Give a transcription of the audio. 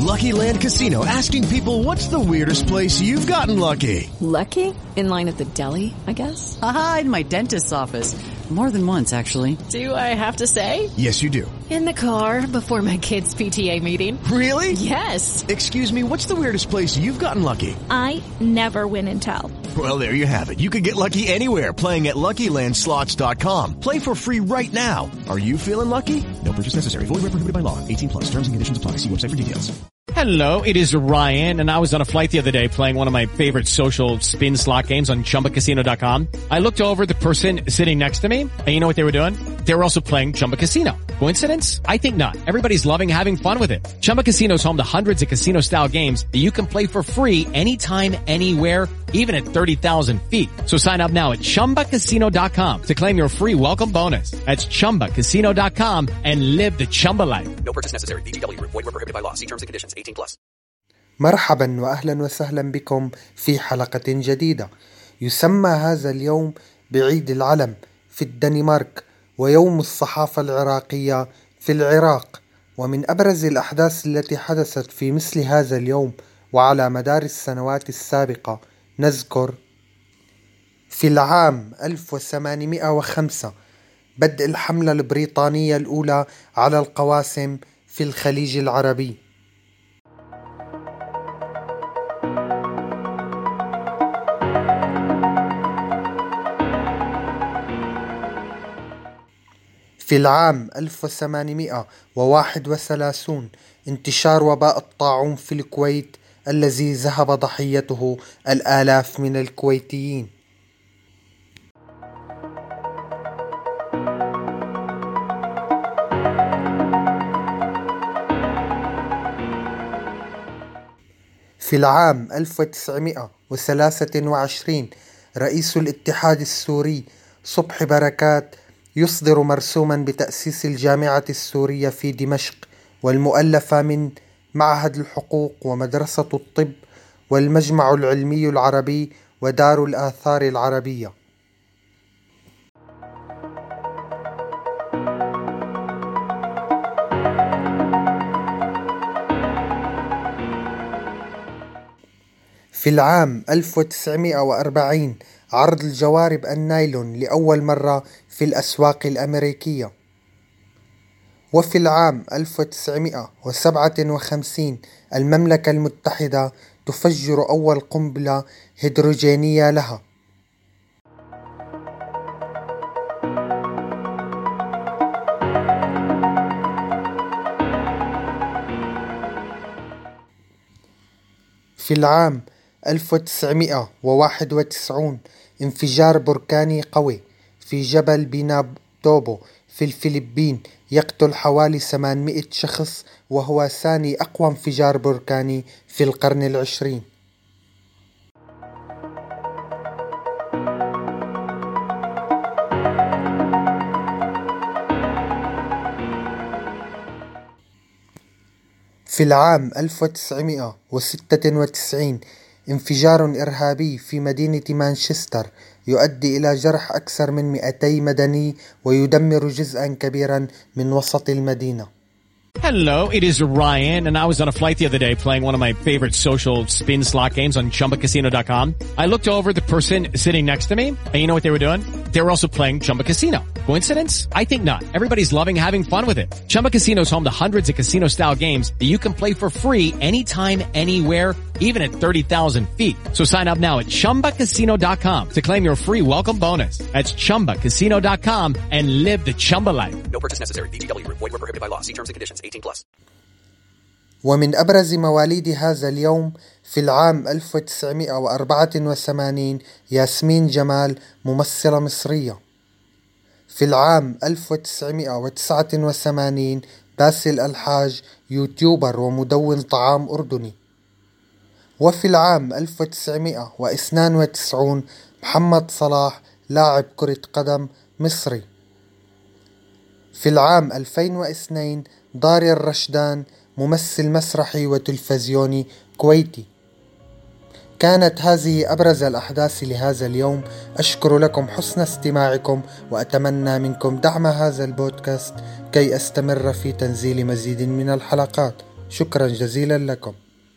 Lucky Land Casino, asking people, what's the weirdest place you've gotten lucky? Lucky? In line at the deli, I guess? Aha, in my dentist's office. More than once, actually. Do I have to say? Yes, you do. In the car before my kids' PTA meeting. Really? Yes. Excuse me, what's the weirdest place you've gotten lucky? I never win and tell. Well, there you have it. You can get lucky anywhere, playing at LuckyLandSlots.com. Play for free right now. Are you feeling lucky? No purchase necessary. Void where prohibited by law. 18 plus. Terms and conditions apply. See website for details. Hello, it is Ryan, and I was on a flight the other day playing one of my favorite social spin slot games on ChumbaCasino.com. I looked over at the person sitting next to me, and you know what they were doing? They were also playing Chumba Casino. Coincidence? I think not. Everybody's loving having fun with it. Chumba Casino is home to hundreds of casino-style games that you can play for free anytime, anywhere, even at 30,000 feet. So sign up now at ChumbaCasino.com to claim your free welcome bonus. That's ChumbaCasino.com and live the Chumba life. No purchase necessary. VGW. Void where prohibited by law. See terms and conditions. 18 plus. مرحبا وأهلا وسهلا بكم في حلقة جديدة. يسمى هذا اليوم بعيد العلم في الدنمارك ويوم الصحافة العراقية في العراق. ومن أبرز الأحداث التي حدثت في مثل هذا اليوم وعلى مدار السنوات السابقة نذكر: في العام 1805 بدء الحملة البريطانية الأولى على القواسم في الخليج العربي. في العام 1831 انتشار وباء الطاعون في الكويت الذي ذهب ضحيته الآلاف من الكويتيين. في العام 1923 رئيس الاتحاد السوري صبحي بركات يصدر مرسوما بتأسيس الجامعة السورية في دمشق والمؤلفة من معهد الحقوق ومدرسة الطب والمجمع العلمي العربي ودار الآثار العربية. في العام 1940 عرض الجوارب النايلون لأول مرة في الأسواق الأمريكية. وفي العام 1957 المملكة المتحدة تفجر أول قنبلة هيدروجينية لها. في العام 1991 انفجار بركاني قوي في جبل بينابوتو في الفلبين يقتل حوالي 800 شخص، وهو ثاني أقوى انفجار بركاني في القرن العشرين. في العام 1996 انفجار إرهابي في مدينة مانشستر يؤدي إلى جرح أكثر من 200 مدني ويدمر جزءا كبيرا من وسط المدينة. Hello, it is Ryan, and I was on a flight the other day playing one of my favorite social spin slot games on ChumbaCasino.com. I looked over at the person sitting next to me, and you know what they were doing? They were also playing Chumba Casino. Coincidence? I think not. Everybody's loving having fun with it. Chumba Casino is home to hundreds of casino-style games that you can play for free anytime, anywhere, even at 30,000 feet. So sign up now at ChumbaCasino.com to claim your free welcome bonus. That's ChumbaCasino.com and live the Chumba life. No purchase necessary. VGW. Void where prohibited by law. See terms and conditions. 18 plus. ومن أبرز مواليد هذا اليوم في العام 1984 ياسمين جمال ممثلة مصرية. في العام 1989 باسل الحاج يوتيوبر ومدون طعام أردني. وفي العام 1992 محمد صلاح لاعب كرة قدم مصري. في العام 2002 داري الرشدان ممثل مسرحي وتلفزيوني كويتي. كانت هذه أبرز الأحداث لهذا اليوم. أشكر لكم حسن استماعكم وأتمنى منكم دعم هذا البودكاست كي أستمر في تنزيل مزيد من الحلقات. شكرا جزيلا لكم.